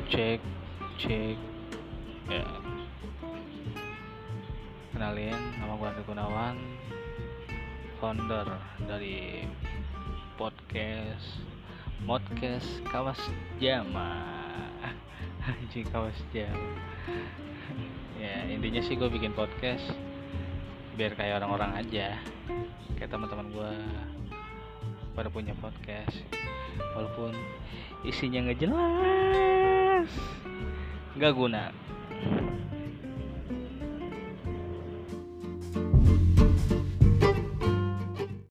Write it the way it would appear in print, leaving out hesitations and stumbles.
Cek, cek. Ya, kenalin, nama gue Andri Gunawan, founder dari podcast Kawas Jama. Anjing, Kawas Jama. Ya, intinya sih gue bikin podcast biar kayak orang-orang aja, kayak teman-teman gue pada punya podcast, walaupun isinya nggak jelas, nggak guna.